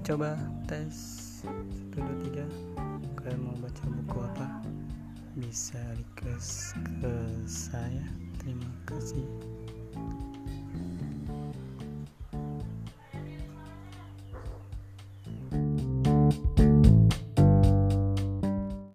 Coba tes 1, 2, 3. Kalian mau baca buku apa? Bisa request ke saya. Terima kasih.